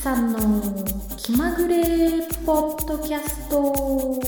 さんの気まぐれポッドキャスト。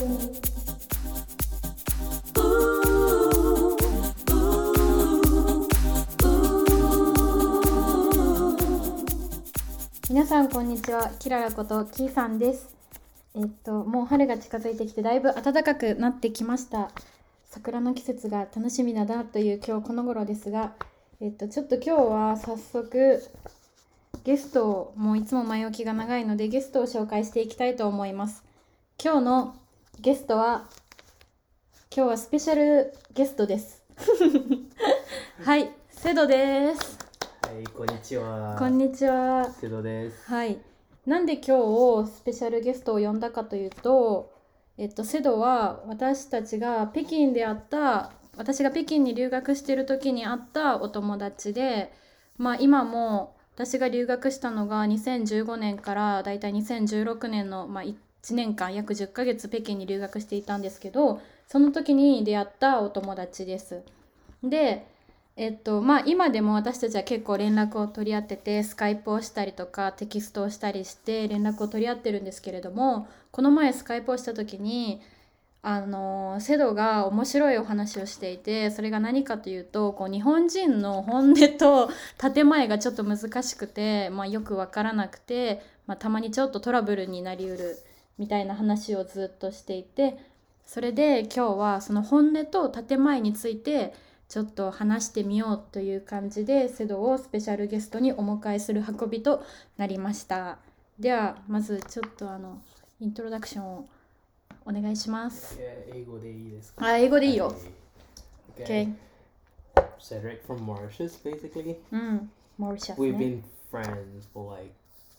皆さんこんにちは、キララことキーさんです。もう春が近づいてきてだいぶ暖かくなってきました。桜の季節が楽しみだなという今日この頃ですが、ちょっと今日は早速ゲストを、もういつも前置きが長いのでゲストを紹介していきたいと思います。今日のゲストは、今日はスペシャルゲストですはい、セドです。 はい、こんにちは。 こんにちは。 セドです。 はい。なんで今日スペシャルゲストを呼んだかというと、セドは私が北京に留学している時に会ったお友達で、今も私が留学したのが2015年からだいたい2016年の、1年間約10ヶ月北京に留学していたんですけど、その時に出会ったお友達です。で、今でも私たちは結構連絡を取り合ってて、スカイプをしたりとかテキストをしたりして連絡を取り合ってるんですけれども、この前スカイプをした時にセドが面白いお話をしていて、それが何かというと、日本人の本音と建前がちょっと難しくて、よく分からなくて、たまにちょっとトラブルになりうるみたいな話をずっとしていて、それで今日はその本音と建前についてちょっと話してみようという感じで、セドをスペシャルゲストにお迎えする運びとなりました。ではまずちょっとイントロダクションをお願いします。 英語でいいですか？ 英語でいいよ。 Okay. Cedric from Mauritius, basically. Mauritius We've ね。 been friends for like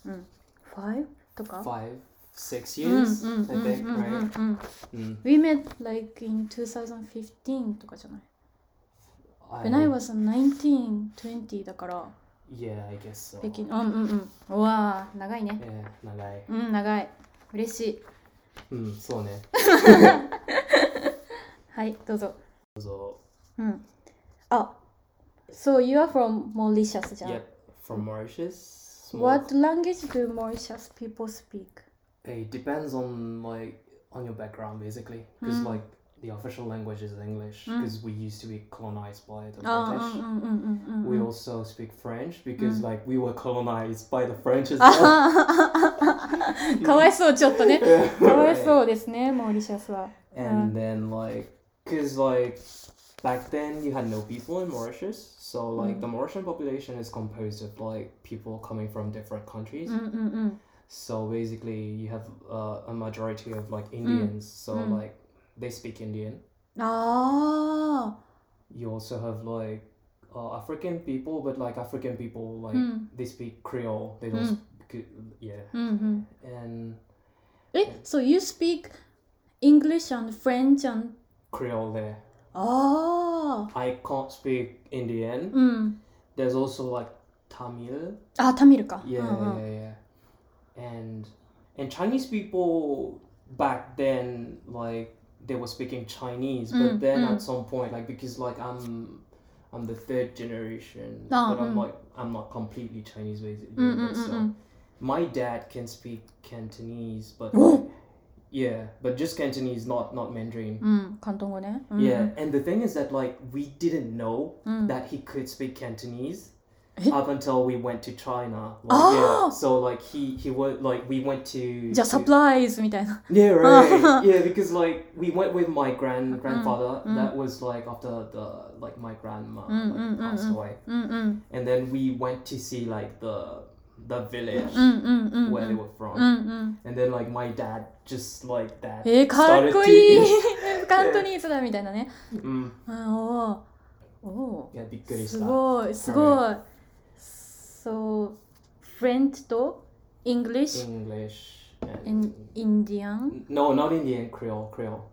5 とか 5-6 years, I think, right? We met like in 2015とかじゃない？ When I was 19, 20だから。 Yeah, I guess so. 北京。うわー、長いね。 長い。 長い。嬉しい。 そうね。 はい、どうぞ。 あ、 So you are from Mauritius じゃん。 Yep, from Mauritius. What language do Mauritius people speak? It depends on your background, basically. Because the official language is English, because we used to be colonized by the British. We also speak French because we were colonized by the French as well. かわいそう、ちょっとね。かわいそうですね、モーリシャスは。 And then because back then you had no people in Mauritius, so the Mauritian population is composed of people coming from different countries. So basically you have a majority of Indians, so they speak Indian. You also have African people, but African people they speak Creole. They don't speak, and So you speak English and French and Creole there. I can't speak Indian. There's also Tamil. Tamil か。 Yeah. And Chinese people back then they were speaking Chinese, but then at some point because I'm the third generation, but I'm not completely Chinese basically. But so my dad can speak Cantonese, but but just Cantonese, not Mandarin. 広東語ね。 Yeah, and the thing is that we didn't know that he could speak Cantonese up until we went to China. So he was we went to じゃあサプライズみたいな。 Yeah, right. Yeah, because we went with my grandfather. That was after the my grandma passed away. And then we went to see the village where they were from. And then my dad just that かっこいいカントニーズだみたいなね。 いやびっくりした。 すごい。So French と English and Indian? No, not Indian. Creole. Creole.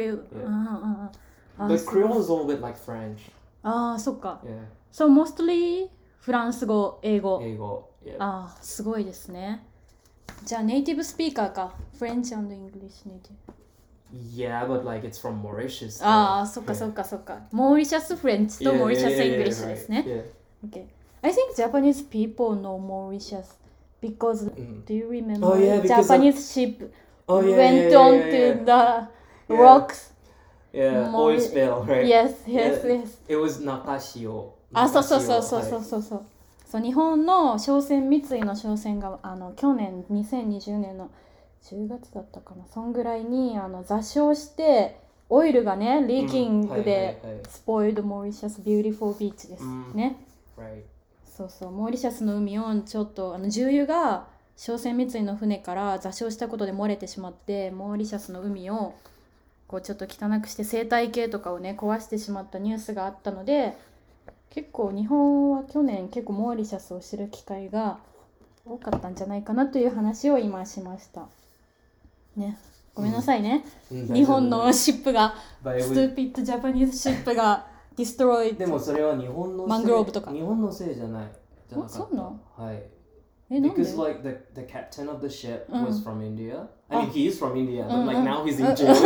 But Creole is a little bit like French. そっか。 Yeah. So mostly フランス語、英語。 Yeah. すごいですね。じゃあネイティブスピーカーか。French and English native. Yeah, but it's from Mauritius. そっか。モーリシャスフレンチとモーリシャスイングリッシュですね。 Yeah. Okay. I think Japanese people know Mauritius because do you remember Oh, yeah, because Japanese ship Oh yeah, went yeah, on yeah, yeah, to the Yeah. rocks. yeah. More- Oil spill, right? Yes, yes, Yeah. yes. It was Nakashio. あ、そうそうそうそう Nakashio, そうはいそうそう。そう、日本の商船三井の商船が去年2020年の10月だったかな、そんぐらいに座礁してオイルがねリーキングでspoiled Mauritius beautiful beach ですね。 Right. そうそう、モーリシャスの海をちょっと重油が商船三井の船から座礁したことで漏れてしまって、モーリシャスの海をこうちょっと汚くして生態系とかをね壊してしまったニュースがあったので、結構日本は去年結構モーリシャスを知る機会が多かったんじゃないかなという話を今しましたね。ごめんなさいね、日本のシップがストゥーピッドジャパニーズシップがディストロイでもそれは日本のせい、 マングローブとか日本のせいじゃない。じゃなかった。 そうなの？ はい。 なんで Because like the captain of the ship was from India. I mean, あ he is from India, but like うんうん now he's in jail.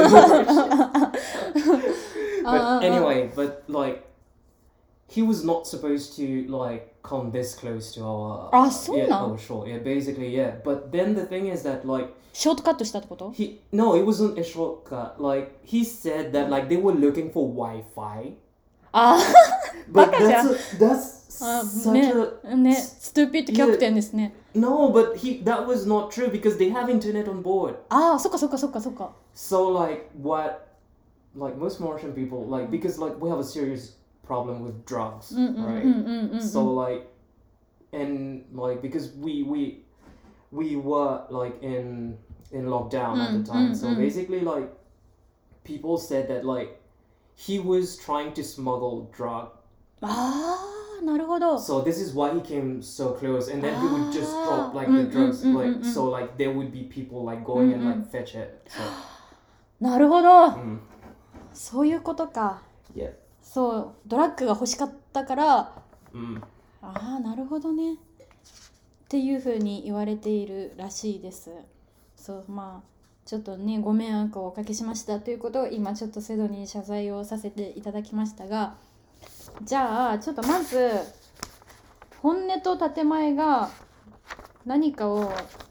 But anyway, but like he was not supposed to like come this close to our. あ、そう yeah, なん？ oh, sure. Yeah, basically, yeah. But then the thing is that like ショートカットしたってこと？ no, it wasn't a shortcut. Like he said that like they were looking for Wi-Fi. あ But バカじゃん。 that's あ such ね a ね、ストゥーピッドキャプテンですね。 no, but that was not true because they have internet on board. ああ、そっかそっかそっかそっか。 So like what like most Mauritian people like because like we have a serious problem with drugs, right? So like and like because we were like in lockdown at the time. So basically like people said that like he was trying to smuggle drug. ああ、なるほど。 So this is why he came so close, and then he would just drop like the drugs, like so like there would be people like going and like fetch it. So なるほど。 mm, そういうことか。 yeah. そう、ドラッグが欲しかったから、 Mm. ああ、なるほどね。っていうふうに言われているらしいです。そう、まあちょっとねご迷惑をおかけしましたということを今ちょっとセドに謝罪をさせていただきましたが、じゃあちょっとまず本音と建前が何かを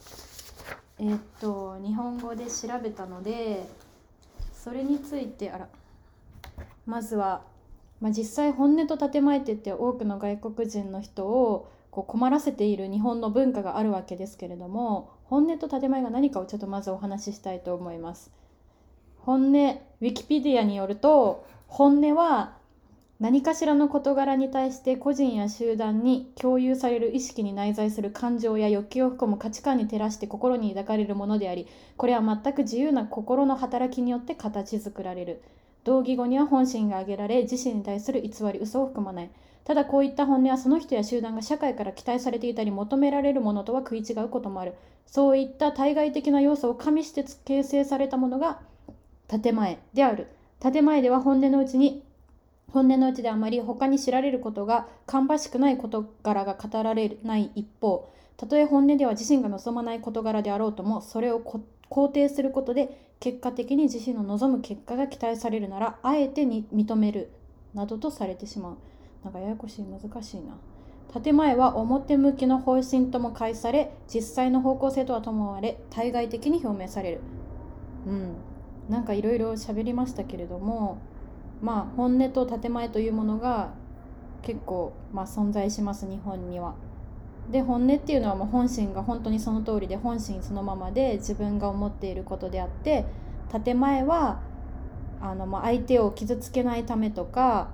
日本語で調べたので、それについてまずは、実際本音と建前って言って多くの外国人の人をこう困らせている日本の文化があるわけですけれども、本音と建前が何かをちょっとまずお話ししたいと思います。本音、ウィキペディアによると、本音は何かしらの事柄に対して個人や集団に共有される意識に内在する感情や欲求を含む価値観に照らして心に抱かれるものであり、これは全く自由な心の働きによって形作られる。同義語には本心が挙げられ、自身に対する偽り、嘘を含まない。ただこういった本音はその人や集団が社会から期待されていたり求められるものとは食い違うこともある。そういった対外的な要素を加味して形成されたものが建前である。建前では本音のうちであまり他に知られることが芳しくない事柄が語られない一方、たとえ本音では自身が望まない事柄であろうとも、それを肯定することで結果的に自身の望む結果が期待されるなら、あえてに認めるなどとされてしまう。なんかややこしい、難しいな。建前は表向きの方針とも解され、実際の方向性とはともわれ、対外的に表明される。なんかいろいろ喋りましたけれども、本音と建前というものが結構存在します、日本には。で、本音っていうのはもう本心が本当にその通りで、本心そのままで自分が思っていることであって、建前は相手を傷つけないためとか、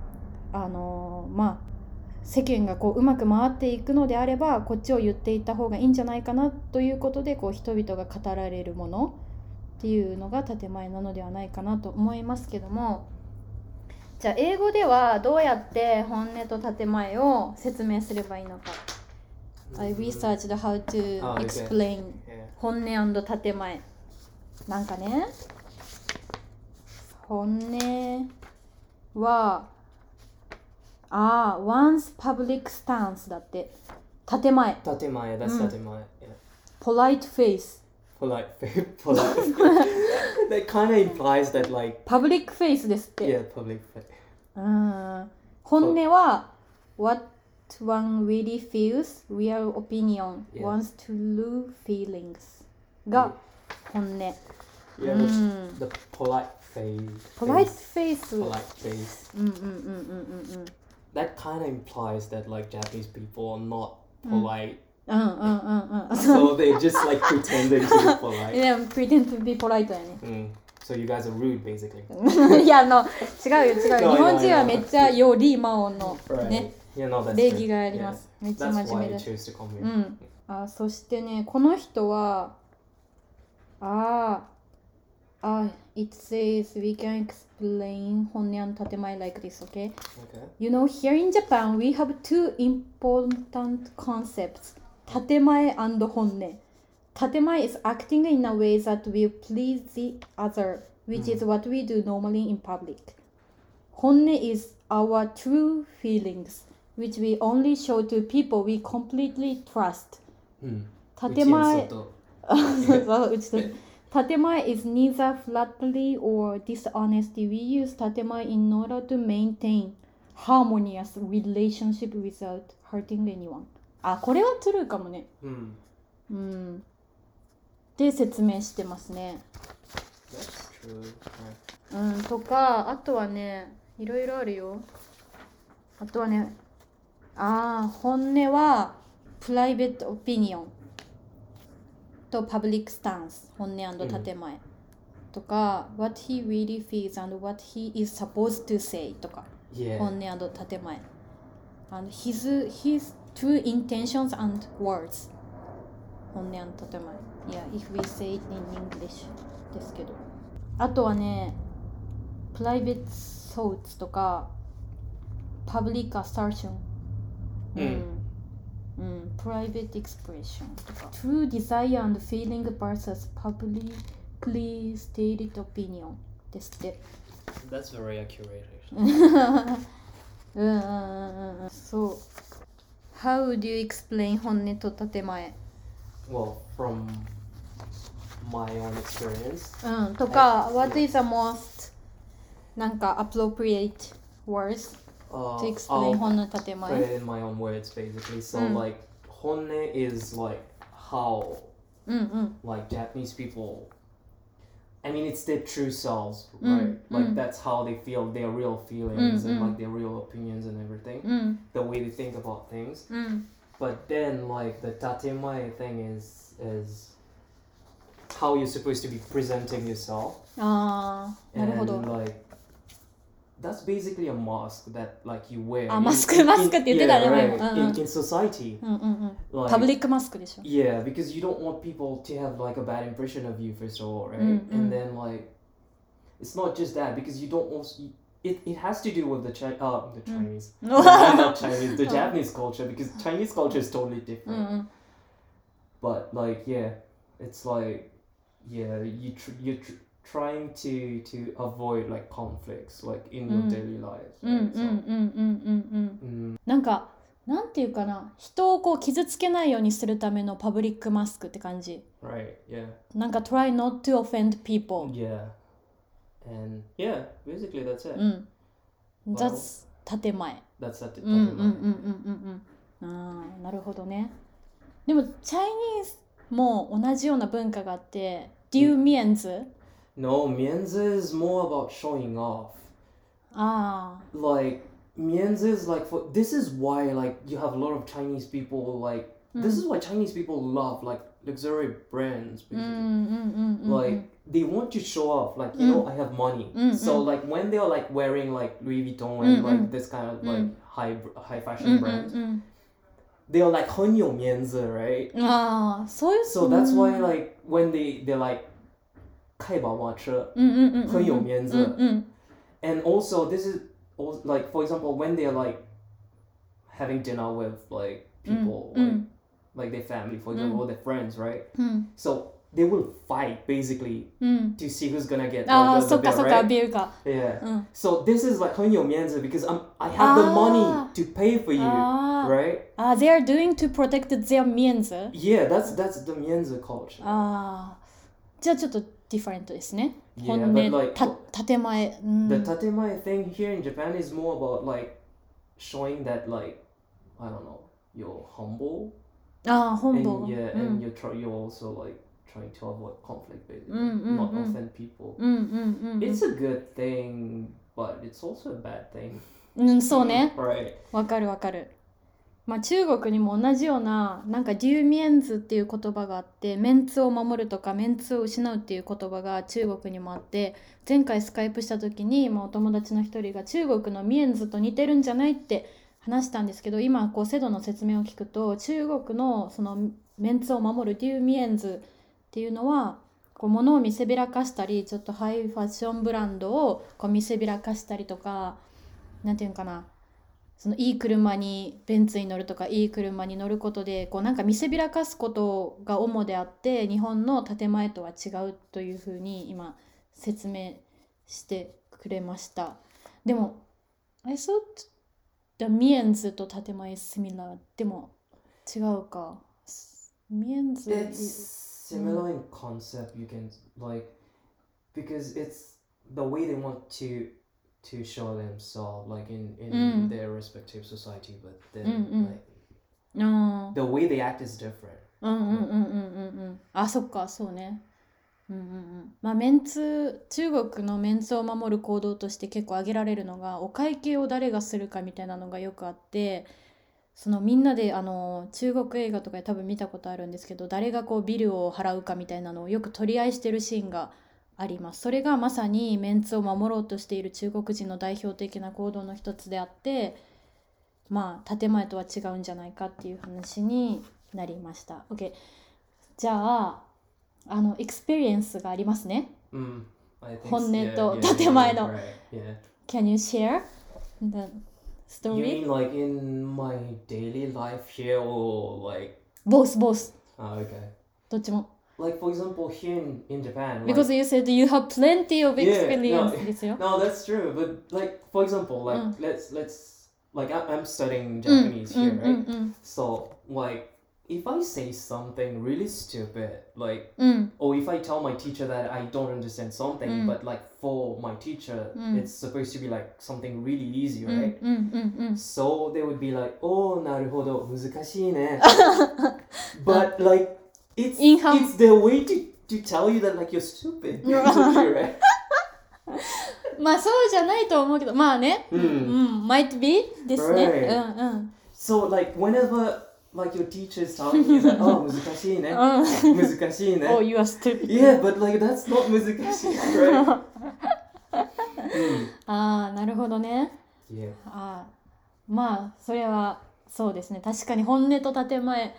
世間がうまく回っていくのであればこっちを言っていった方がいいんじゃないかなということで、人々が語られるものっていうのが建前なのではないかなと思いますけども、じゃあ英語ではどうやって本音と建前を説明すればいいのか。I researched how to explain 本音&建前。なんかね、本音はone's public stance だって。建前。 建前、that's 建前。 polite face。 polite. That kind of implies that like public face ですって。 Yeah, public face. 本音は what one really feels real opinion Yes. wants to true feelings が本音 Yeah, the polite face. polite face Polite face. うんうんうんうんうんうん That kind of implies that like Japanese people are not polite. うんうんうんうん So they just like pretending to be polite. Yeah, pretend to be polite やね So you guys are rude basically. いや違うよ違うよ No, 日本人 no, は no. めっちゃより魔王の Right. ね Yeah, no, that's 礼 true. 儀がありま Yeah. すめっちゃ That's 真面 why 目 I です chose to come う here. んそしてねこの人はit says we can explain 本音 and 建前 like this, okay? Okay. You know, here in Japan, we have two important concepts, 建前 and 本音。建前 is acting in a way that will please the other, which is what we do normally in public. 本音 is our true feelings, which we only show to people we completely trust. 建前建前 is neither flattery or dishonesty. We use 建前 in order to maintain harmonious relationship without hurting anyone. これは true かもね。で説明してますね。 That's true. とかあとはねいろいろあるよ。あとはね本音はプライベートオピニオンとパブリックスタンス本音建前、とか what he really feels and what he is supposed to say とか、本音建前 and his true intentions and words 本音建前 yeah if we say it in English ですけどあとはねプライベートthoughts とか public assertion private expression とか true desire and feeling versus publicly stated opinion ですって That's very accurate actually. そう How would you explain 本音と建前 Well, from my own experience とか What is the most なんか appropriate words to explain 本音建前 put it in my own words basically. So like honne is like how like Japanese people I mean it's their true selves, right? Like that's how they feel their real feelings and like their real opinions and everything. The way they think about things. But then like the tatemae thing is how you're supposed to be presenting yourself. なるほど And like that's basically a mask that like you wear. マスクって言ってたね in society. パブリックマスクでしょ Yeah, because you don't want people to have like a bad impression of you first of all, right? And then like it's not just that because you don't also it has to do with the Chinese. Not Chinese, the Japanese culture because Chinese culture is totally different. But like yeah, it's like yeah, you're trying to avoid like conflicts like in your daily lives. Right? なんかなんていうかな人をこう傷つけないようにするためのパブリックマスクって感じ Right, yeah. なんか try not to offend people Yeah. And yeah, basically that's it. That's 建前 That's that. なるほどねでも Chinese も同じような文化があって Do you means? No, mianzi is more about showing off. Like mianzi is like for this is why like you have a lot of Chinese people like this is why Chinese people love like luxury brands basically. Like they want to show off like you know I have money. So like when they're like wearing like Louis Vuitton and like this kind of like high fashion brands, they're like 很有面子, right? So that's why like when they're like 开宝马车很有面子 and also this is also, like for example when they're like having dinner with like people like their family for example or their friends, right? So they will fight basically to see who's gonna get like, the bill, right? Yeah. So this is like 很有面子 because I have the money to pay for you, right? They are doing to protect their 面子 Yeah, that's the 面子 culture. じゃあちょっとディファレントですね Yeah, 本 but 音 like 建前 the tatemae thing here in Japan is more about like showing that like I don't know, you're humble. ああ、本 And 坊。 yeah, うん and you're also like trying to avoid conflict, basically, うんうん not うん offend people. うんうんうん It's a good thing, but it's also a bad thing. うん、そうね。 Right. わかるわかる。まあ中国にも同じようななんかデューミエンズっていう言葉があって、メンツを守るとかメンツを失うっていう言葉が中国にもあって、前回スカイプした時に、まあ、お友達の一人が中国のミエンズと似てるんじゃないって話したんですけど、今こうセドの説明を聞くと、中国のそのメンツを守るデューミエンズっていうのはこう物を見せびらかしたり、ちょっとハイファッションブランドをこう見せびらかしたりとか、なんていうのかな、そのいい車にベンツに乗るとかいい車に乗ることでこうなんか見せびらかすことが主であって、日本の建前とは違うというふうに今説明してくれました。でも I thought the ミエンズと建前 is similar。 でも違うか。ミエンズ It's similar in concept, you can like, because it's the way they want to show themselves, like in their respective society, but then like あ the way they act is different. あ、そっか、そうね。まあメンツ、中国のメンツを守る行動として結構挙げられるのが、お会計を誰がするかみたいなのがよくあって、そのみんなで中国映画とかで多分見たことあるんですけど、誰がこうビルを払うかみたいなのをよく取り合いしてるシーンがあります。それがまさにメンツを守ろうとしている中国人の代表的な行動の一つであって、まあ建前とは違うんじゃないかっていう話になりました。 OK、 じゃあエクスペリエンスがありますね。 I think 本音 yeah, と yeah, 建前の right, yeah. Can you share the You story? mean like in my daily life here, or like both okay, どっちも。 like for example here in Japan, Because like, you said you have plenty of Yeah, experience no, ですよ。 no, that's true, but like for example, like let's like I'm studying うん Japanese うん here, うん right? うん So like if I say something really stupid, like, うん or if I tell my teacher that I don't understand something, but like for my teacher, it's supposed to be like something really easy, うん right? うんうんうん So they would be like, oh, なるほど、難しいね。But like, it's their way to tell you that like you're stupid, basically, right? まあそうじゃないと思うけど、まあね、might be ですね。 Right. So like whenever like your teacher is telling you that, oh, 難しいね。難しいね。 Oh, you are stupid. Yeah, but like that's not 難しい, right? ああ、なるほどね。 Yeah. ああ、まあそれはそうですね。確かに本音と建前、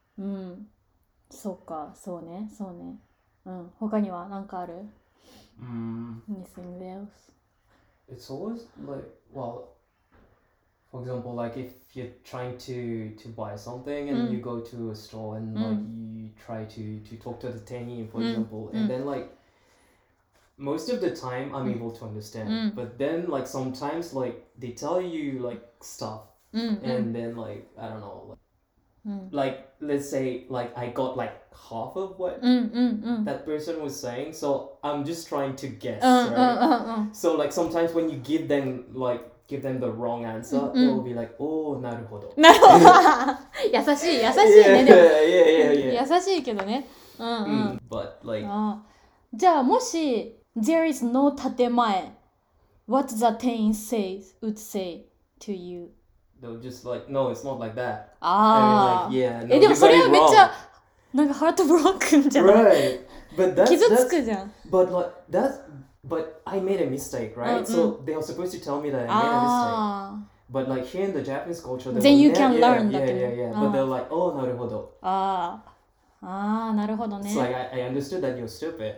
そうか、そうね。他には何かある？ Anything else? It's always like, well, for example, like if you're trying to buy something and you go to a store and like you try to talk to the tenny, for example, and then like most of the time I'm able to understand, but then like sometimes like they tell you like stuff and then like I don't know, like let's say like I got like half of what that person was saying, so I'm just trying to guess, right? So like sometimes when you give them the wrong answer, they will be like, oh, なるほど。 なるほど。優しいね。でも yeah. 優しいけどね。 But like, じゃあもし there is no 建前 what the tenant would say to you? they'll just like, no, it's not like that. ああ、 I mean, like, yeah, no, でも you そ got れ it はめっちゃ wrong. なんかハートブロックンじゃない？ Right. But that's 傷つくじゃん。 but like but I made a mistake, right? So they were supposed to tell me that I made a mistake. But like here in the Japanese culture, they Then will you can learn that. Yeah. But they're like, oh, なるほど. ああ、なるほどね。 It's like I understood that you're stupid.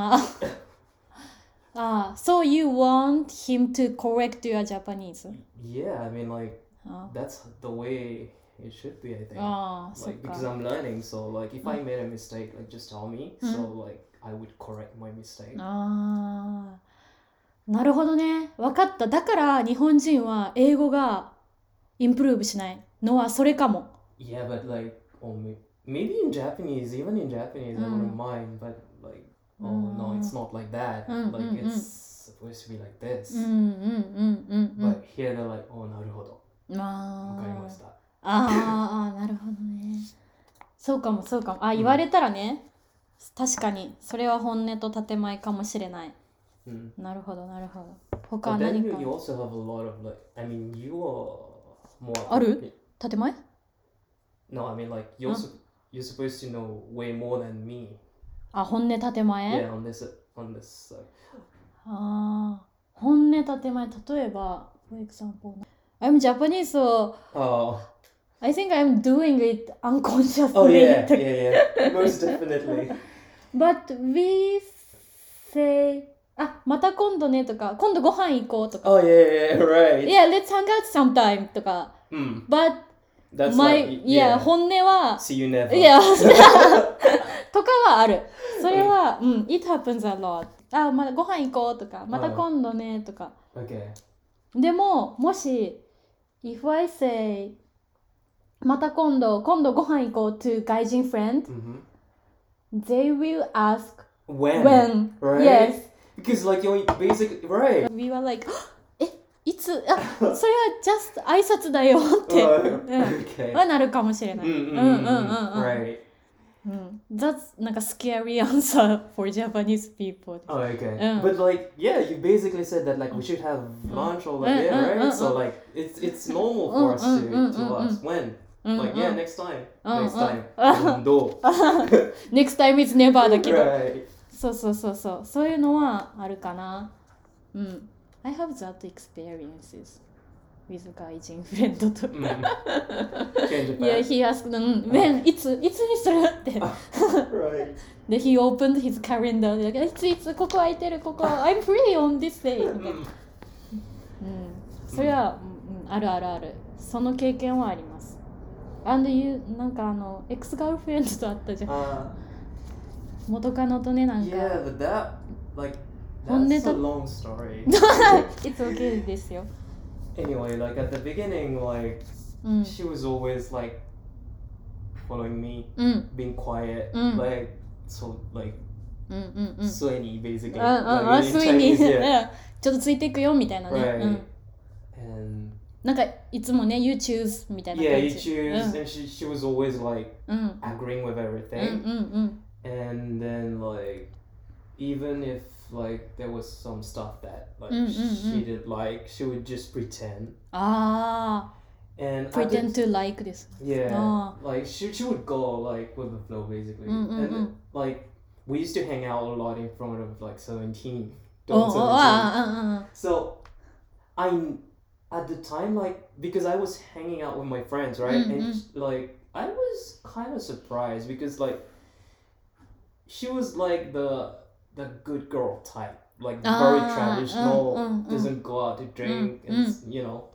So you want him to correct your Japanese? Yeah, I mean like that's the way it should be, I think. Like because I'm learning, so like if I made a mistake, like just tell me, so like I would correct my mistake. なるほどね。わかった。だから日本人は英語がインプルーブしないのはそれかも。 Yeah, but like maybe in Japanese, even in Japanese, I wouldn't mind, but like, oh no, it's not like that. Like it's supposed to be like this. But here they're like, oh, なるほど。わかりました。 なるほどね。そうかもそうかも。言われたらね、確かにそれは本音と建前かもしれない。なるほどなるほど。他 But then 何 you, か you also have a lot of like, I mean, you are more. ある？建前？ No, I mean like you're supposed to know way more than me. 本音建前？ Yeah, on this side. 本音建前、例えば for example I'm Japanese, so I think I'm doing it unconsciously. Oh yeah, most definitely. But we say また今度ねとか、今度ご飯行こうとか。 Oh yeah, right. Yeah, let's hang out sometime とか。But that's my like, 本音は see you never. Yeah とかはある。それはit happens a lot. またご飯行こうとか、また今度ねとか。 Okay. でももし if I say また今度ご飯行こう to 外人 friend、they will ask when. Right? Yes. Because like you're basically right. We were like いつそれは just 挨拶だよって Okay. はなるかもしれない。 Right. That's なんか scary answer for Japanese people. Oh, okay. But like, yeah, you basically said that like we should have lunch or like, right? So like, it's normal for us to ask when. Like, yeah, next time. Next time. どう Next time is never だけど。 Right. そういうのはあるかな。I have that experiences with 外人フレンドと。Yeah, he asked when いつにするって。 Right. で、he opened his calendar で、いつここ空いてるここ I'm free on this day みたいな。それは、ある。その経験はあります。And you なんかエクスガールフレンドと会ったじゃん。元カノとねなんか。 Yeah, but that like that's a long story. It's okay ですよ。 Anyway, like at the beginning, like she was always like following me, being quiet, like so like スエニ basically. スエニちょっとついていくよみたいなね。 Right. なんかいつもね You choose みたいな感じ。 Yeah, you choose, and she was always like agreeing with everything. And then like even if like there was some stuff that like she didn't like, she would just pretend. And pretend to like this. Yeah. Like she would go like with the flow basically. And like we used to hang out a lot in front of like 17. So at the time, like because I was hanging out with my friends, right? And like I was kind of surprised because like she was like the good girl type, like very traditional, doesn't go out to drink, and you know.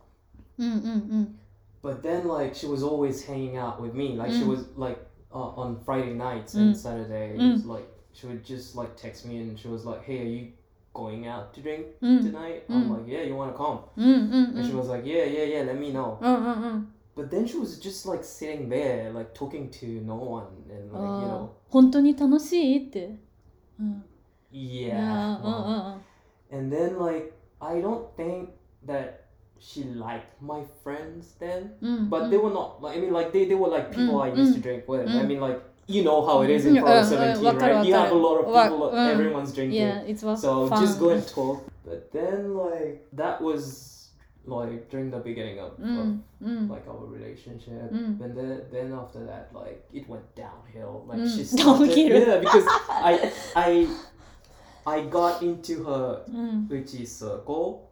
But then like she was always hanging out with me, like she was like on Friday nights and Saturdays, like she would just like text me and she was like, "Hey, are you going out to drink tonight?" I'm like, "Yeah, you want to come?" And she was like, yeah, let me know. But then she was just like sitting there like talking to no one and like you know 本当に楽しいって。 Yeah. And then like I don't think that she liked my friends then, but they were not like I mean like they were like people I used to drink with. I mean like you know how it is in Pro 17, right? You have a lot of people, everyone's drinking. Yeah, it was so fun. just go and talk. But then like that was like during the beginning of like our relationship, and then after that like it went downhill. Like she started, yeah, because I got into her uchi circle.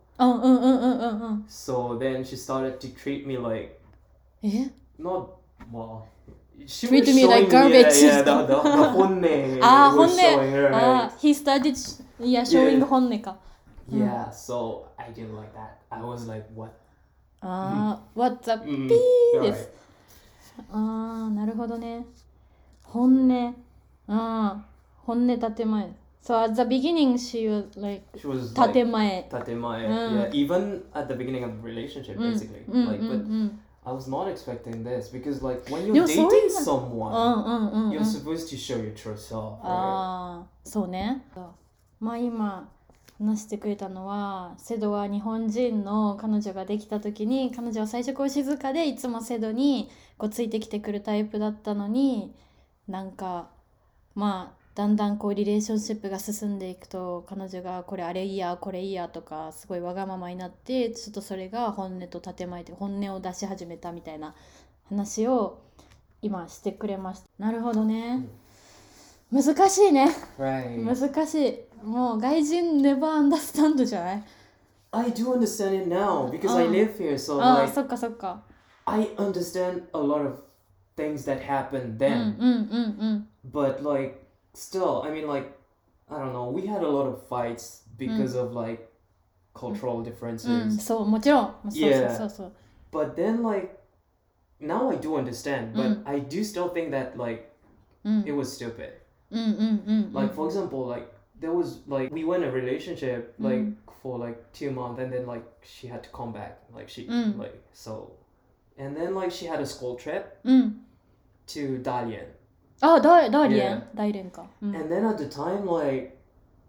So then she started to treat me like not well. She treat was me like garbage. Yeah, the honne was showing her. Right? He started showing honne か。 Yeah, so I didn't like that. I was like, what? What the p です。なるほどね。本音。本音建前。So at the beginning she was like 建前。 建前。Yeah, even at the beginning of the relationship, basically. Like, but I was not expecting this because like when you're dating someone, you're supposed to show your true self. Right? そうね。まあ今話してくれたのは、セドは日本人の彼女ができた時に、彼女は最初こう静かでいつもセドにこうついてきてくるタイプだったのに、なんかまあだんだんこうリレーションシップが進んでいくと、彼女がこれあれいいやこれいいやとかすごいわがままになって、ちょっとそれが本音と建前で本音を出し始めたみたいな話を今してくれました。なるほどね。難しいね。 Right. 難しい。もう外人 never understand じゃない？ I do understand it now because I live here, so ああ、 like そっかそっか。 I understand a lot of things that happened うん then. うんうん。 But like still, I mean like I don't know, we had a lot of fights because of like cultural うん、 differences. そう、もちろん。そうそう Yeah. そうそう。 But then like now I do understand, but I do still think that like うん it was stupid. うんうんうん。 Like for example, like there was like we were in a relationship like for like 2 months and then like she had to come back. Like she like so and then like she had a school trip うん。 to Dalian. あ、大連 Yeah. 大連か。うん And then at the time like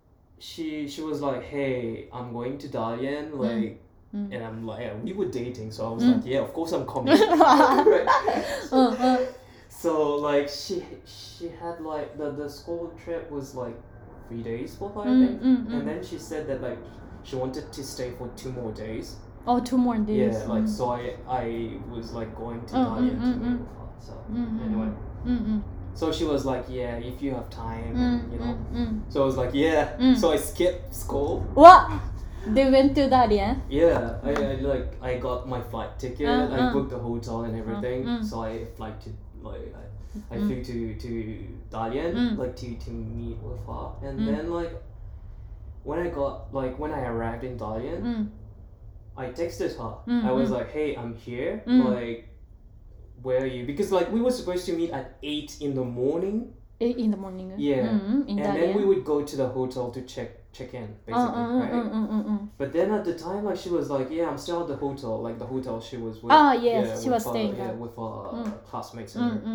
she was like, hey, I'm going to Dalian, like and I'm like, yeah, we were dating, so I was like, yeah, of course I'm coming. Right? うんうん。 So like she had like the school trip was like 3 days for her, I think. And then she said that like she wanted to stay for 2 more days. Oh, 2 more days. Yeah, like so I was like going to Dalian to meet with her. So anyway, うんうん。 so she was like, yeah, if you have time, うん you う know. んうん。 So I was like, yeah. So I skipped school. What? They went to 大連 Yeah, I got my flight ticket. I booked the hotel and everything. So I flew to like I flew to Dalian like to meet with her. And then like when I arrived in Dalian, うん I texted her. I was like, hey, I'm here. Like, where are you? Because like we were supposed to meet at 8 in the morning. in the morning? Yeah. うんうん。in And 大 then 連 we would go to the hotel to check in, basically, うんうん right? うんうんうん。 But then at the time, like she was like, "Yeah, I'm still at the hotel, like the hotel she was with." Ah, yes, yeah, she with was her, staying yeah, there. with her classmates and her,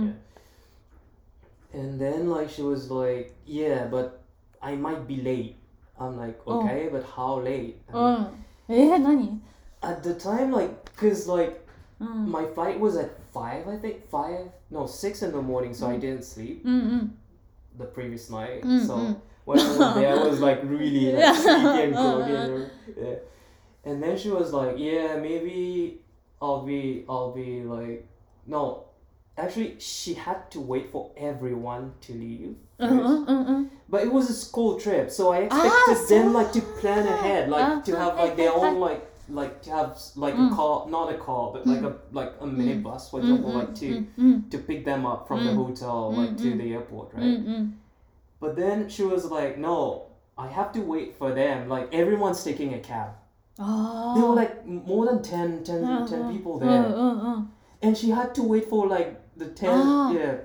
yeah. And then like she was like, "Yeah, but I might be late." I'm like, "Okay, but how late?" I う mean, ん。何？ at the time, like, cause like うん。 my flight was at 5, I think 6 in the morning, so I didn't sleep うんうん。 the previous night. Mm, So mm. when I was there, I was like really like sleepy and groggy. Yeah. And then she was like, "Yeah, maybe I'll be like no." Actually, she had to wait for everyone to leave. うん first. うんうんうん。 But it was a school trip, so I expected them so- like to plan ahead, like to have like their own like to have like a car, not a car, but like a minibus, for example, like to pick them up from the hotel like to the airport, うん right? うん。 But then she was like, "No, I have to wait for them. Like everyone's taking a cab." あ There were あ。 like more than 10 people うん there, うんうん。 and she had to wait for like the 10. Ah. Yeah,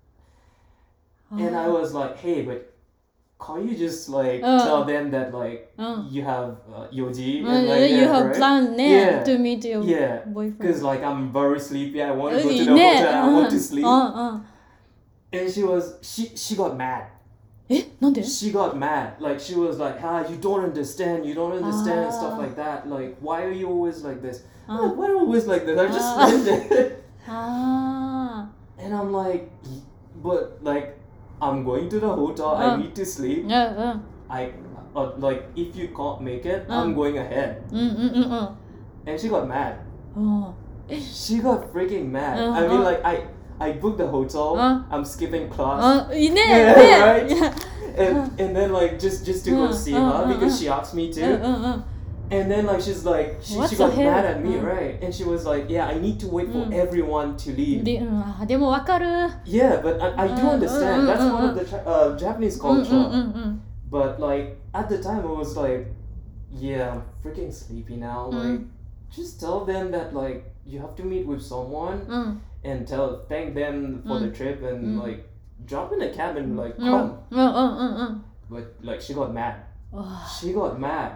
and I was like, "Hey, but can't you just like Uh. tell them that like うん。 you have Yoji う and ん like You yeah, have right? planned ね Yeah. to meet your Yeah, boyfriend. because like I'm very sleepy. I want to go to the ね hotel. I want to sleep." うんうん。 And she got mad. え、なんで？ She got mad. Like she was like, you don't understand, and stuff like that. Like, why are you always like this? I'm like, why are you always like this? I just landed. あ And I'm like, but like, I'm going to the hotel. I need to sleep. あ。うんうん。 Like, if you can't make it, I'm going ahead. うんうんうんうん。 And she got mad. うん。 She got freaking mad. Uh-huh. I mean, like, I booked the hotel. I'm skipping class. あ、いいね。 Yeah, ね。 right? いや And then like just to go see her because she asked me うん to. うんうん。 And then like she's like she What the got hell? mad at me, right? And she was like, "Yeah, I need to wait for everyone to leave." で、うん、あ、でもわかる。 Yeah, but I do understand. That's one of the Japanese うんうん culture. うんうん。 But like at the time, I was like, "Yeah, I'm freaking sleepy now. Like, just tell them that like you have to meet with someone うん。 and thank them for the trip and like jump in a cab and like うん come." うんうんうんうん。 But like she got mad. あ She got mad.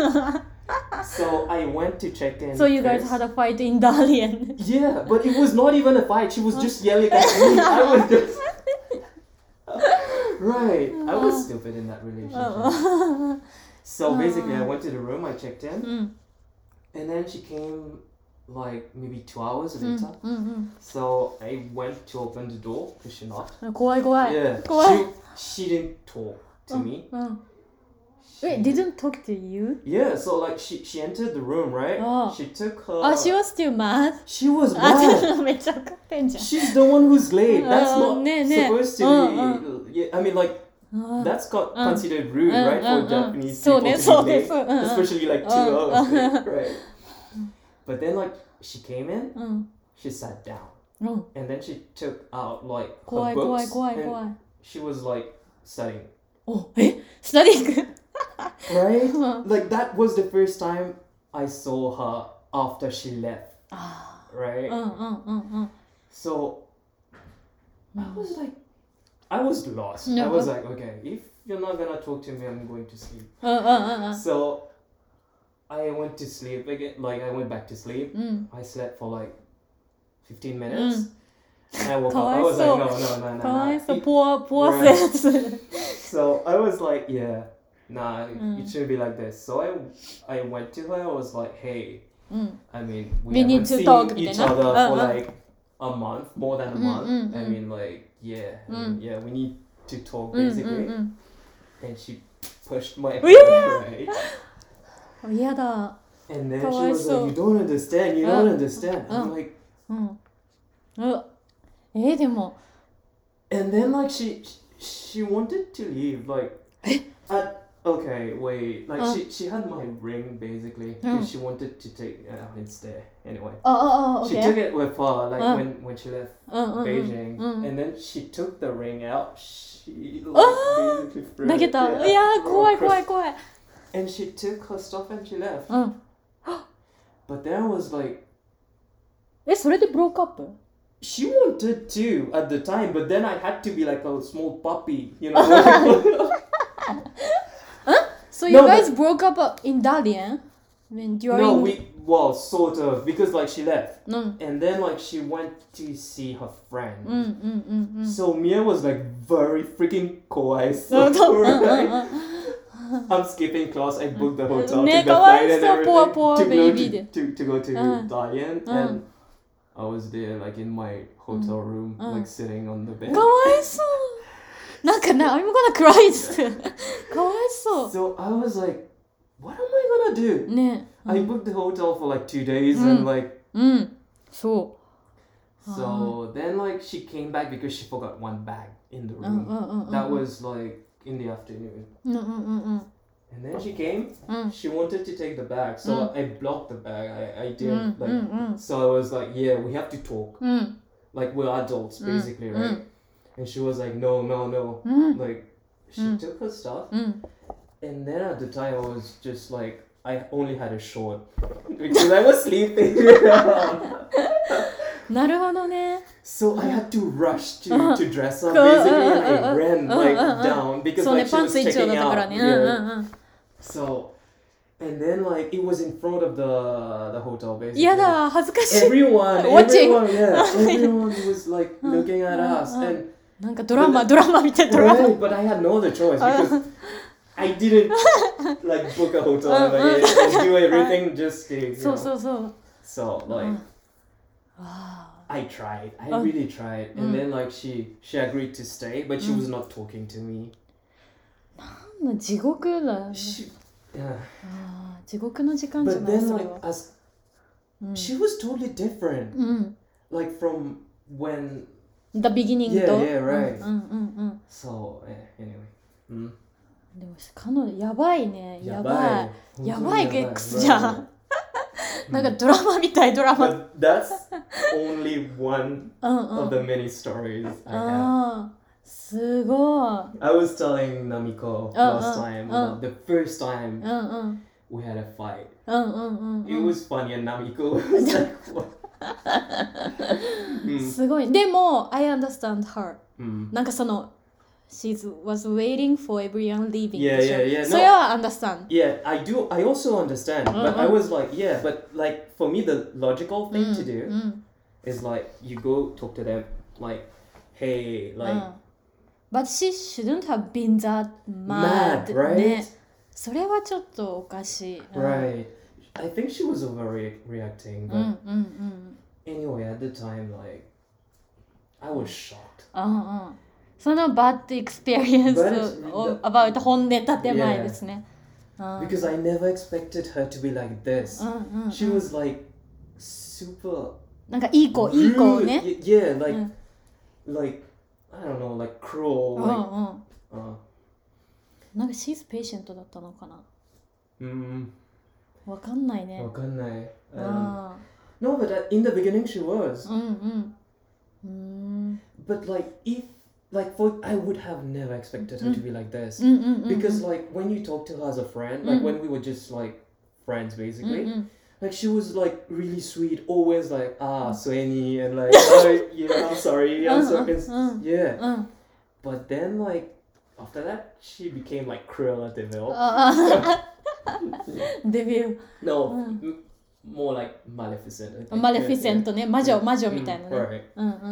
So I went to check in. So you guys first. had a fight in Dalian. Yeah, but it was not even a fight. She was just yelling at me. I was just. Right. I was stupid in that relationship. So basically, I went to the room, I checked in, うん and then she came like maybe 2 hours うん later. うん So I went to open the door because she knocked. うん怖い怖い Yeah, 怖い she didn't talk to me. うん She, Wait, didn't talk to you? Yeah, so like she entered the room, right? Oh. She took her. あ、she was still mad? She was あ、 mad. めっちゃ怒ってんじゃん She's the one who's late. That's not ねえねえ supposed to be. Yeah, I mean, like あ that's considered rude, right, for Japanese そう people ね to そう be で late, すうん especially like 2 hours late, right? But then like she came in, うん she sat down, うん and then she took out like 怖 her い怖い books, 怖い and 怖い she was like studying, おスタディング right? うん Like that was the first time I saw her after she left, あ right? ーうんうんうんうん So I was like, I was lost. No. I was like, okay, if you're not gonna talk to me, I'm going to sleep. うんうんうんうん So I went to sleep again. Like I went back to sleep. うん I slept for like 15 minutes. And I woke up. I was Kawaiso. like, no, no, かわい no, そう no. ポアポアセンス So I was like, yeah, nah, Mm. it shouldn't be like this. So I went to her. I was like, hey, うん I mean, We we need haven't to seen talk each みたいな other for Uh-uh. like a month, more than a Mm, month. mm, I mm. mean, like, yeah, I mean, Mm. yeah, we need to talk うんうん basically. うん And she pushed my Yeah. hand, right? 嫌だ And then she was Kawaiso. like, you don't understand, you don't understand. I'm Uh. like, うんでも and then like she wanted to leave, like, okay, wait, like she had my ring basically because she wanted to take, it's there anyway. あ She OK took it with her, like when she left うんうんうん Beijing, うん and then she took the ring out. She like Ah! basically threw 投 it, げた yeah, いや threw 怖い across- 怖い怖い And she took her stuff and she left. うん But then I was like, それでブロークアップ she wanted to at the time, but then I had to be like a small puppy, you know? So you No, guys broke up in Dalian? When during No, well, sort of, because like she left. うん And then like she went to see her friend. うんうんうんうん So Mia was like very freaking kawaii. う So, んうんうん right? I'm skipping class. I booked the hotel, Ne took the kawaii flight and so, poor, everything poor to go baby to go to Dalian, Uh. and I was there like in my hotel room, like sitting on the bed. かわいそうなんかな I'm gonna cry かわいそ So I was like, what am I gonna do? うね I booked the hotel for like 2 days and like うんそ so then like she came back because she forgot one bag in the ううん room. うんうんうん That was like in the afternoon. うんうんうんうん And then she came, うん she wanted to take the bag, so I blocked the bag. I didn't like. うんうん So I was like, yeah, we have to talk. うん Like we're adults basically, right? And she was like, no, no, no. うん Like she took her stuff, うん and then at the time I was just like, I only had a short because I was sleeping. なるほどね So I had to rush to dress up basically, and I ran like down because そうね like she パン was ツ一丁だ checking ったから out. ねうんう Yeah. んうん So, and then like it was in front of the hotel basically. 嫌だ恥ずかしい Everyone, Watching. everyone, yeah, everyone was like looking at us, and なんかドラマみたいドラマ right, but I had no other choice because I didn't like book a hotel and, like, and do everything just to, you そう know. そうそう So like わ I tried, I really tried, and then like she agreed to stay, but she was not talking to me. あ地獄だ She, yeah. あー地獄の時間じゃ But ない then それ like は as she was totally different, うん like from when. The beginning と Yeah, yeah, right. うんうんうん So anyway. でも彼女やばいねやばいややばい本当にゲックスじゃん right. なんかドラマみたいドラマ But that's only one うんうん of the many stories I have. あーすごい I was telling Namiko last time about the first time うんうん we had a fight. うんうんうん It was funny and Namiko was like, what? すごいでも I understand her うんなんかその she was waiting for everyone leaving Yeah, でしょ yeah, yeah. それは understand Yeah, I do. I also understand, but I was like, yeah, but like for me, the logical thing to do うん is like you go talk to them, like, hey, う like ん But she shouldn't have been that mad, mad, right? ねそれはちょっとおかしい。 Right. I think she was overreacting, う but んうんうん。 anyway, at the time, like, I was shocked. うんうん。そのバッドエクスペリエンス But を about 本音建前ですね。 because I never expected her to be like this. うんうん。 She was like super なんかいい子 rude. ね。 Yeah, like, うん like I don't know, like cruel. うん Like, うん。 uh, なんか she's patient だったのかな。 mm, わかんないね。 wakanai. あ No, but in the beginning she あ。 was. うんうん。 But like if like for I would have never expected her to be like this. うんうんうんうん。 Because like when you talk to her as a friend, like when we were just like friends うん basically, うん。 like she was like really sweet, always like Sueni and like oh, yeah, I'm sorry, I'm sorry. Yeah. うん。 But then like after that she became like Cruella de Vil. デビュー。 No, more like Maleficent. I think. マレフィセントね。魔女 Yeah. 魔女みたいなね。 Right. うんうんうんうん。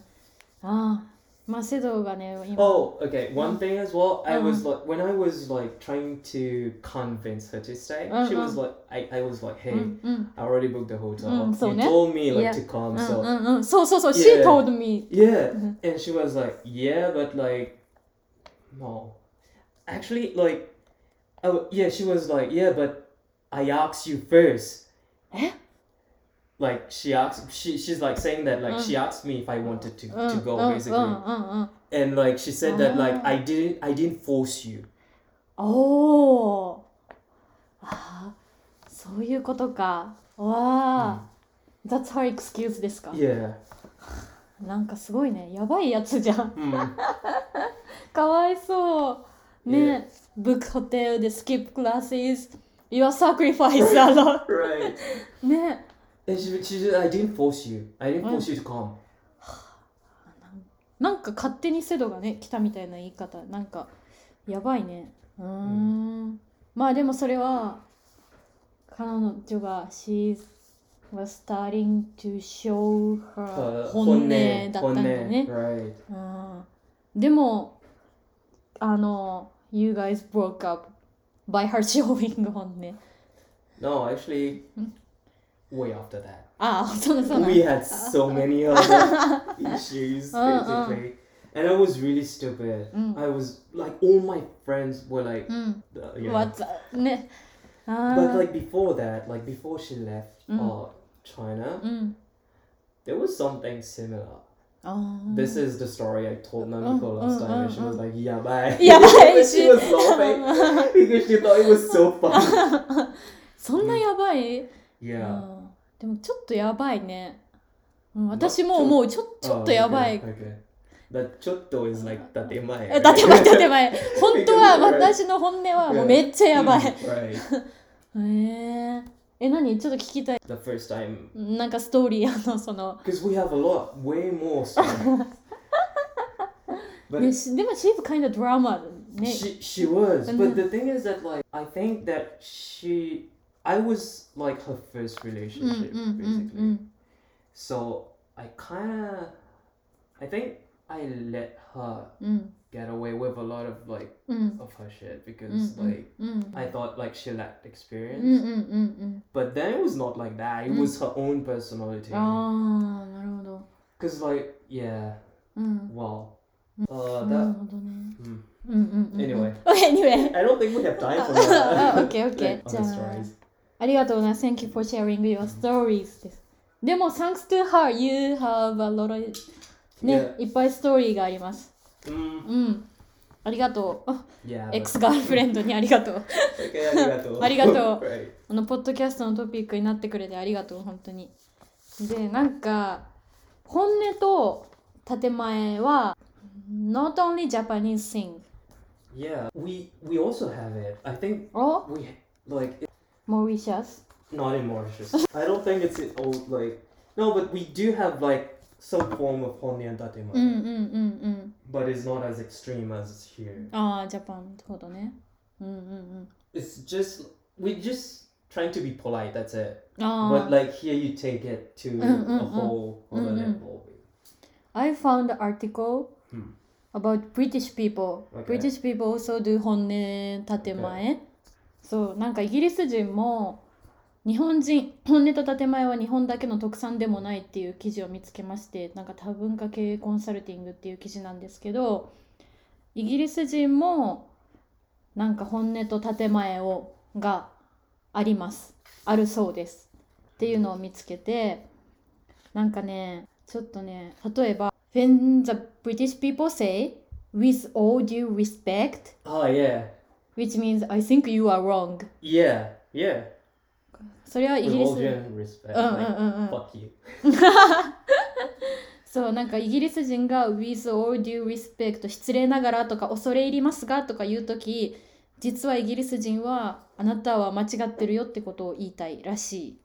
ああ。まあセドがね今。 Oh, okay. One thing as well, I was like when I was like trying to convince her to stay, she was like I was like, hey, うんうん。 I already booked the hotel. so You ne? told me like Yeah. to come, うん so うんうん。そうそうそう。She Yeah. told me. yeah. And she was like, yeah, but like no. Actually, like yeah, she was like, yeah, but I asked you first. え Like she's like saying that like she asked me if I wanted to うん go うん basically. うんうん。 And like she said that like I didn't force you. おお。ああ。そういうことか。わあ。That's her excuse ですか。 Yeah. なんかすごいね。やばいやつじゃん。 Mm. かわいそう。ね。Book hotel で skip classes. Your sacrifice a lot. Right. ね。 And she said I didn't force you. I didn't force you to come. なんか勝手にセドがね来たみたいな言い方なんかやばいね。まあでもそれは彼女が She was starting to show her 本音だったんだね。 Right. でもYou guys broke up by her showing 本音。 No, actually, way after that. ああ、そうな We had so many other issues basically. And I was really stupid. I was like all my friends were like yeah. What ね。 But like before that, like before she left China, there was something similar. This is the story I told Namiko last time, and she was like, "Yeah, bye." Yeah, bye. She was laughing because she thought it was so funny. そんなやばい、 Yeah. でもちょっとやばいね、私も思うちょっとやばい、 Okay. That chotto is like 建前。 建前本当は私の本音はもうめっちゃやばい、 Right. 何ちょっと聞きたい The first time. なんかストーリーその Because we have a lot, way more stories. But ね、でも she's kind of drama ね she was. But the thing is that like I think that I was like her first relationship basically. So I think I let her get away with a lot of like of her shit because like I thought like she lacked experience. But then it was not like that. It was her own personality. ああなるほど Cause like yeah. Wow. なるほどね Anyway. Anyway I don't think we have time for that. OK じゃ Other あ stories. ありがとうな Thank you for sharing your stories ですでも Thanks to her you have a lot of ね、いっぱいストーリーがありますありがとう Yeah. エクスガールフレンドにありがとう Okay, ありがとう。 ありがとう Right. ポッドキャストのトピックになってくれてありがとう本当にでなんか本音と建前は not only Japanese thing Yeah, we also have it. I think or we like Mauritius not in Mauritius. I don't think it's in old like no, but we do have like some form of honne and tatema. But it's not as extreme as here. ああジャパンほどね It's just we just trying to be polite. That's it. あ But あ like here you take it to a whole other level. I found an article about British people. Okay. British people also do 本音建前そうなんかイギリス人も日本人本音と建前は日本だけの特産でもないっていう記事を見つけまして、なんか多文化経営コンサルティングっていう記事なんですけど、イギリス人もなんか本音と建前があります、あるそうですっていうのを見つけて、なんかねちょっとね、例えば When the British people say with all due respect, Oh yeah, which means I think you are wrong. yeah, yeah. それはイ With ギリ all ス due respect, うんうん like うんうん fuck you. そうなんかイギリス人が with all due respect 失礼ながらとか恐れ入りますがとか言うとき、実はイギリス人はあなたは間違ってるよってことを言いたいらしい。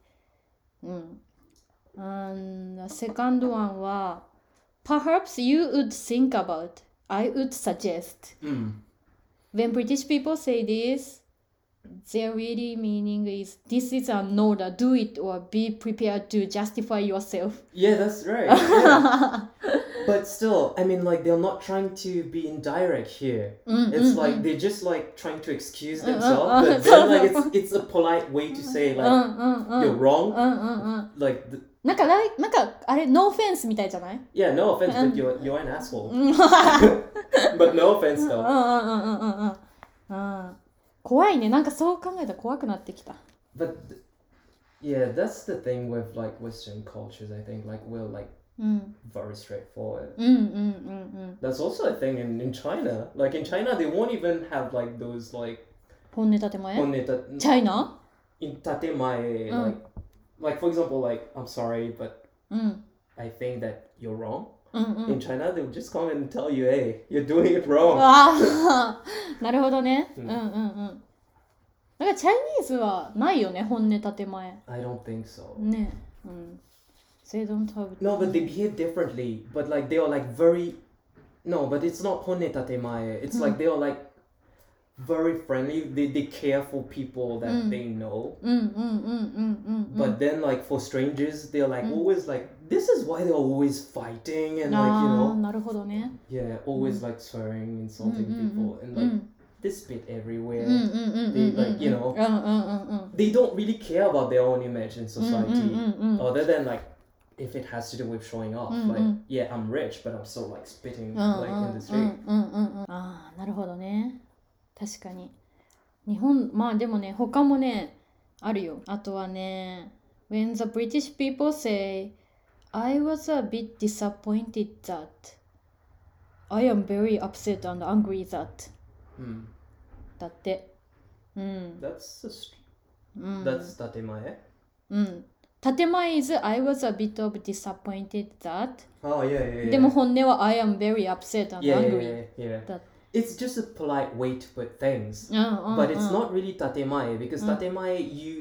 セカンドワンは Perhaps you would think about, I would suggest. When British people say this, their really meaning is this is an order, do it or be prepared to justify yourself. Yeah, that's right. Yeah. But still, I mean, like they're not trying to be indirect here. It's like they're just like trying to excuse themselves, but then like it's a polite way to say like you're wrong. Like なんかあれノーフェンスみたいじゃない？ yeah, no offense, but you're an asshole. But no offense though. 怖いね。なんかそう考えたら怖くなってきた。 But yeah, that's the thing with like Western cultures. I think like we're like very straightforward. That's also a thing in China. Like in China, they won't even have like those like 本音建前？チャイナ？ in tatemae, like for example, like I'm sorry, but I think that you're wrong. In China, they'll just come and tell you, hey, you're doing it wrong. なるほどね。だからチャイニーズはないよね、本音建前。 I don't think so. ね。They don't have. No, but they behave differently. But like they are like very. No, but it's not honne tatemae. It's like they are like very friendly. They care for people that they know. But then like for strangers, they're like always like this is why they're always fighting and like you know. なるほどね。 Yeah, always like swearing, insulting people, and like they spit everywhere. They like you know. They don't really care about their own image in society, other than like if it has to do with showing off. Like yeah, I'm rich, but I'm still like spitting like in the street. ああ、なるほどね。確かに。日本、まあでもね、他もね、あるよ。あとはね、When the British people say, I was a bit disappointed that I am very upset and angry that だって。 That's tatemae. 建前 is I was a bit of disappointed that. Oh yeah, yeah, yeah. でも本音は I am very upset and angry. Yeah. It's just a polite way to put things. But it's not really tatemae because tatemae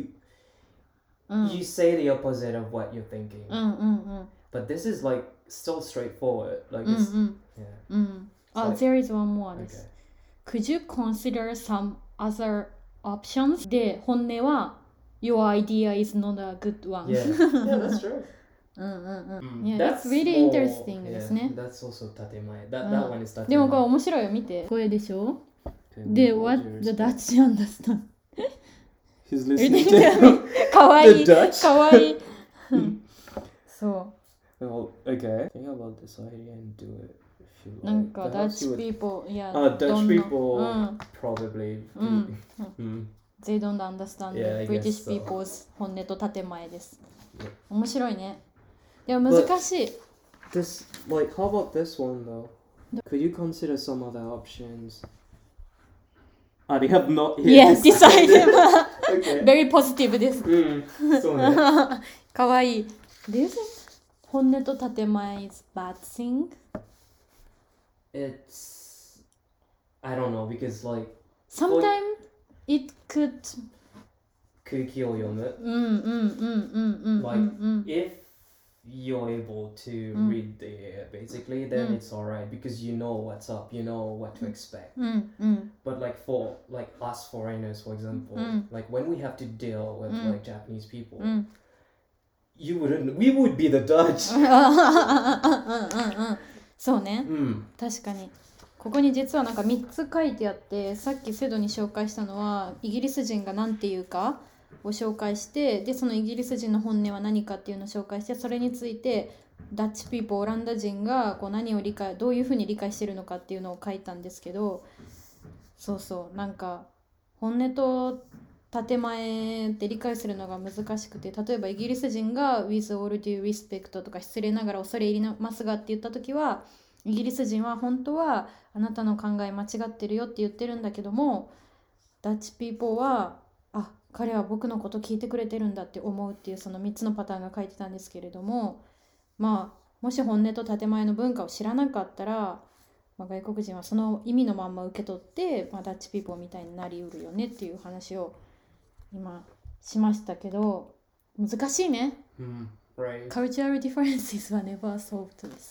you say the opposite of what you're thinking. But this is like still straightforward. Like it's yeah. There is one more. Okay. Could you consider some other options? で、本音は Your idea is not a good one. Yeah, that's true. Yeah, that's really interesting ですね。 That's also tatemae. That one is tatemae. でもこれ面白いよ、見て。これでしょ？で、What the Dutch understand? He's listening to かわいい。 The Dutch? かわいい。そう。 Well, okay. Think about this idea and do it if you like. なんか Perhaps you Dutch would- people, yeah, Dutch don't people know. probably. They don't understand Yeah, I British guess so. people's 本音と建前です。 Yeah. 面白いね。でも難しい。 This, like, how about this one though? Could you consider some other options? They have not yet Yes, decided. Okay. Very positive です。 そうね。 かわいい。Do you think 本音と建前 is bad thing? It's, I don't know because like Sometimes it could. 空気を読む。Like if you're able to read the air basically, then it's alright because you know what's up, you know what to expect. But like for like us foreigners, for example, like when we have to deal with like Japanese people, we would be the Dutch. そうね。確かに。 ここに実はなんか3つ書いてあって、さっきセドに紹介したのはイギリス人が何て言うかを紹介して、でそのイギリス人の本音は何かっていうのを紹介して、それについてダッチピーポー、オランダ人がこう何をどういうふうに理解してるのかっていうのを書いたんですけど、そうそう、なんか本音と建前って理解するのが難しくて、例えばイギリス人が with all due respect とか失礼ながら恐れ入りますがって言った時は、イギリス人は本当はあなたの考え間違ってるよって言ってるんだけども、ダッチピーポーは彼は僕のこと聞いてくれてるんだって思うっていう、その3つのパターンが書いてたんですけれども、もし本音と建前の文化を知らなかったら、外国人はその意味のまんま受け取って、ダッチピーポーみたいになりうるよねっていう話を今しましたけど、難しいね。 Right. Cultural differences は never solved です。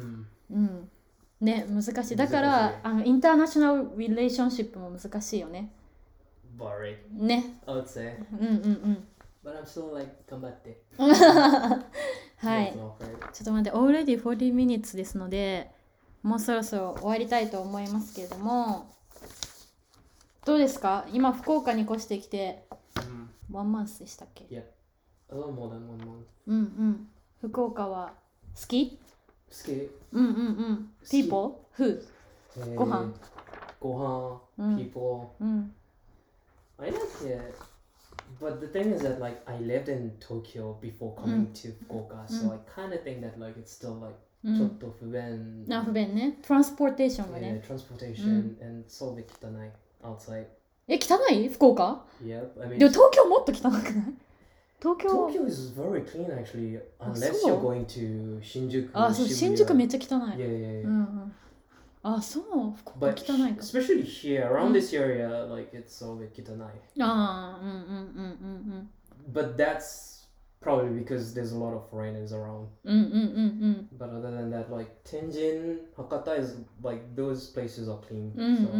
ね、難しい。だからインターナショナルリレーションシップも難しいよね。 Boring. ね。 I would say. But I'm still like 頑張って。 はい。ちょっと待って、already 40 minutes ですので、もうそろそろ終わりたいと思いますけれども、どうですか？今福岡に越してきて、1 month でしたっけ？ Yep. A little more than 1 month. 福岡は好き？ 好き。 People? Food? ご飯。 people. I like it. But the thing is that like I lived in Tokyo before coming to Fukuoka, so I kind of think that like it's still like ちょっと不便。 不便ね。トランスポーテーションがね。 transportation and そうで汚い。outside. 汚い？福岡？ Yep. I mean. でも東京もっと汚くない？ Tokyo is very clean actually, unless you're going to Shinjuku. そう、新宿めっちゃ汚い。そう、福岡汚いか。 Especially here, around this area, like it's so汚い。But that's probably because there's a lot of foreigners around. But other than that, like Tenjin, Hakata is like those places are clean.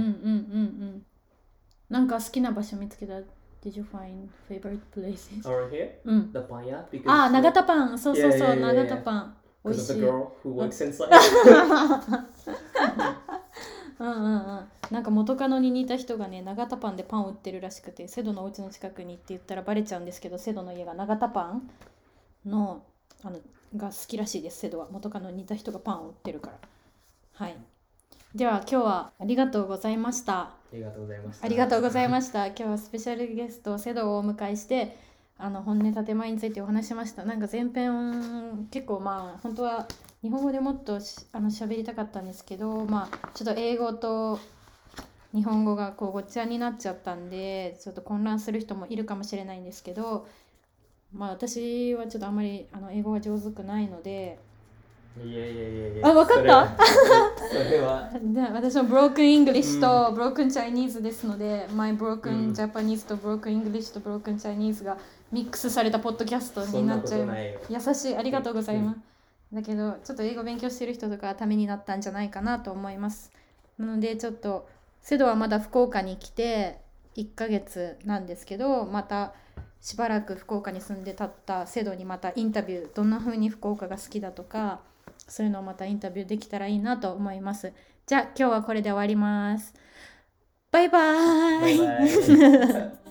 なんか好きな場所見つけた。Did you find favorite places? Around here? The panya? 長田パン。そう、長田パン。美味しい。 Because of the girl who works inside. なんか元カノに似た人がね、長田パンでパンを売ってるらしくて、セドのお家の近くにって言ったらバレちゃうんですけど、セドの家が長田パンのが好きらしいです。セドは元カノに似た人がパンを売ってるから。はい。では今日はありがとうございました。 ありがとうございました。 ありがとうございました。今日はスペシャルゲストセドをお迎えして本音建前についてお話しました。なんか前編結構本当は日本語でもっと喋りたかったんですけど、ちょっと英語と日本語がこうごっちゃになっちゃったんで、ちょっと混乱する人もいるかもしれないんですけど、私はちょっとあんまり英語が上手くないので。 いや分かった？ それは私の Broken English と Broken Chinese ですので、My Broken Japanese と Broken English と Broken Chinese がミックスされたポッドキャストになっちゃう。優しい、ありがとうございます。だけどちょっと英語勉強してる人とかためになったんじゃないかなと思います。なのでちょっとセドはまだ福岡に来て1ヶ月なんですけど、またしばらく福岡に住んでたったセドにまたインタビュー、どんな風に福岡が好きだとか、そういうのをまたインタビューできたらいいなと思います。じゃあ今日はこれで終わります。バイバーイ。